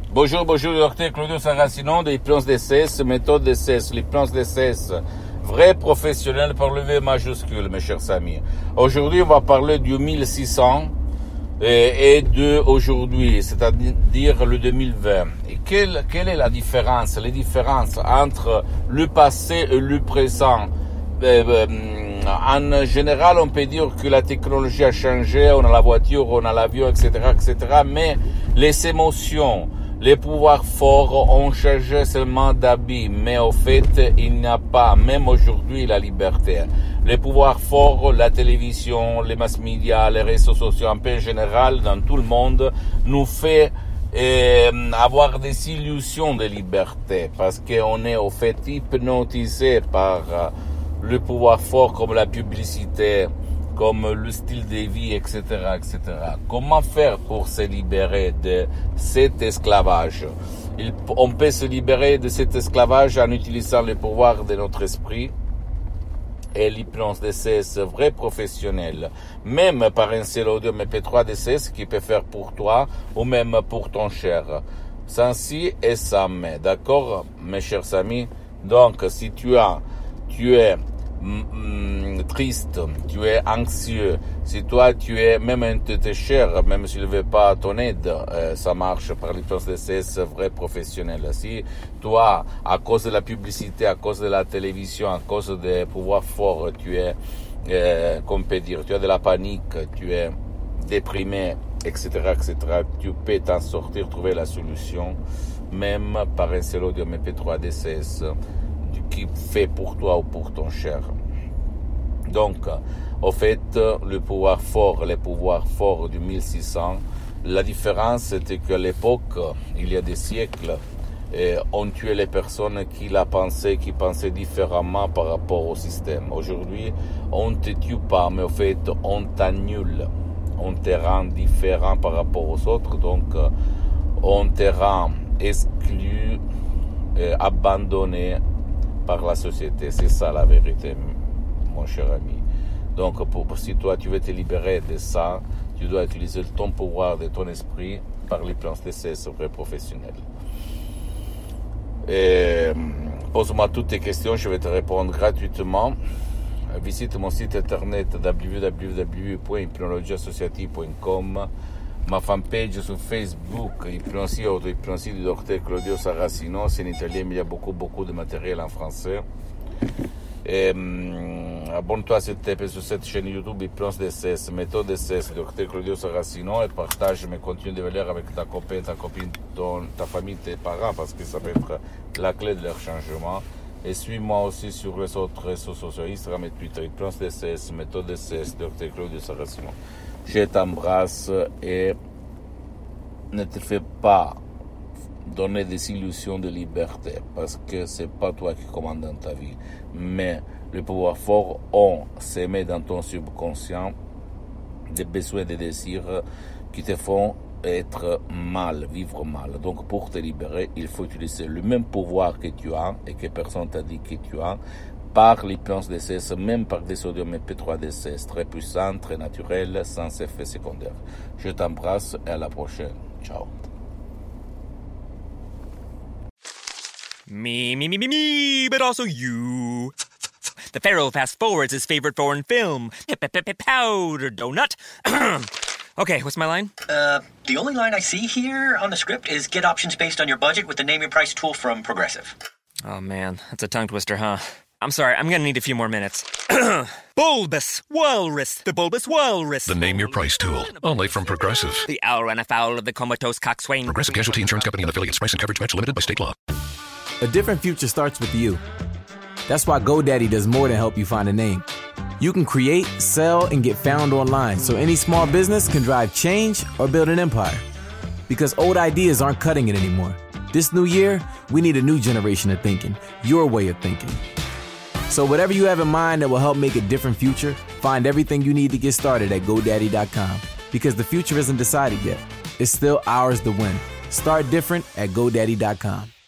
Bonjour, docteur Claudio Saracino de l'hypnose DCS, méthode DCS, l'hypnose DCS, vrai professionnel par le V majuscule, mes chers amis. Aujourd'hui, on va parler du 1600 et de aujourd'hui, c'est-à-dire le 2020. Et quelle est la différence? Les différences entre le passé et le présent. En général, on peut dire que la technologie a changé, on a la voiture, on a l'avion, etc., mais les émotions, les pouvoirs forts ont changé seulement d'habit, mais au fait, il n'y a pas, même aujourd'hui, la liberté. Les pouvoirs forts, la télévision, les mass médias, les réseaux sociaux, en peu général, dans tout le monde, nous fait avoir des illusions de liberté, parce qu'on est au fait hypnotisé par le pouvoir fort comme la publicité, comme le style de vie, etc., etc. Comment faire pour se libérer de cet esclavage? On peut se libérer de cet esclavage en utilisant le pouvoir de notre esprit et l'hypnose DCS vrai professionnel, même par un seul audio MP3 DCS qui peut faire pour toi ou même pour ton cher. Sans si et sans mais, d'accord, mes chers amis? Donc, si tu es triste, tu es anxieux, si toi tu es même un de tes chers, même s'il ne veut pas ton aide, ça marche par l'hypnose DCS vrai professionnel. Si toi, à cause de la publicité, à cause de la télévision, à cause des pouvoirs forts, tu es, qu'on peut dire, tu as de la panique, tu es déprimé, etc., tu peux t'en sortir, trouver la solution, même par un seul audio MP3 DCS qui fait pour toi ou pour ton cher. Donc, au fait, les pouvoirs forts du 1600, la différence c'était qu'à l'époque, il y a des siècles, on tuait les personnes qui pensaient différemment par rapport au système. Aujourd'hui, on ne te tue pas, mais au fait, on t'annule. On te rend différent par rapport aux autres, donc on te rend exclu, abandonné par la société. C'est ça la vérité, mon cher ami. Donc, si toi tu veux te libérer de ça, tu dois utiliser ton pouvoir de ton esprit par l'hypnose DCS vrai professionnel. Pose-moi toutes tes questions, je vais te répondre gratuitement. Visite mon site internet www.hypnologieassociative.com, ma fanpage sur Facebook, Hypnosie Auto-Hypnosie du docteur Claudio Saracino, c'est en italien, mais il y a beaucoup de matériel en français. Abonne-toi sur cette chaîne YouTube Hypnose DCS, méthode DCS, docteur Claudio Saracino, et partage mes contenus de valeur avec ta copine, ta famille, tes parents, parce que ça peut être la clé de leur changement. Et suis-moi aussi sur les autres réseaux sociaux, Instagram et Twitter, Hypnose DCS, méthode DCS, docteur Claudio Saracino. Je t'embrasse et ne te fais pas donner des illusions de liberté, parce que c'est pas toi qui commandes dans ta vie, mais le pouvoir fort se met dans ton subconscient des besoins, des désirs qui te font vivre mal. Donc pour te libérer, il faut utiliser le même pouvoir que tu as et que personne t'a dit que tu as, par l'hypnose DCS, même par des audios MP3 DCS, très puissants, très naturels, sans effet secondaire. Je t'embrasse et à la prochaine. Ciao. Me, but also you. The Pharaoh fast forwards his favorite foreign film, Powder Donut. Okay, what's my line? The only line I see here on the script is get options based on your budget with the Name Your Price tool from Progressive. Oh man, that's a tongue twister, huh? I'm sorry, I'm gonna need a few more minutes. Bulbous Walrus, the Bulbous Walrus. The Name Your Price tool, only from Progressive. The owl ran afoul of the comatose coxswain. Progressive Casualty Insurance Company and affiliates. Price and coverage match limited by state law. A different future starts with you. That's why GoDaddy does more than help you find a name. You can create, sell, and get found online, so any small business can drive change or build an empire. Because old ideas aren't cutting it anymore. This new year, we need a new generation of thinking, your way of thinking. So whatever you have in mind that will help make a different future, find everything you need to get started at GoDaddy.com. Because the future isn't decided yet. It's still ours to win. Start different at GoDaddy.com.